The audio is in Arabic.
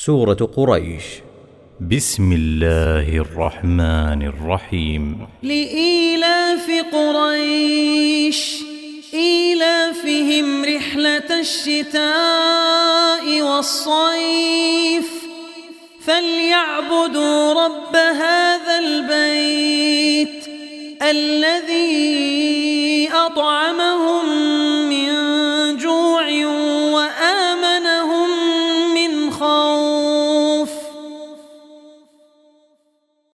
سورة قريش. بسم الله الرحمن الرحيم. لإيلاف قريش إيلافهم رحلة الشتاء والصيف فليعبدوا رب هذا البيت الذي أطعمهم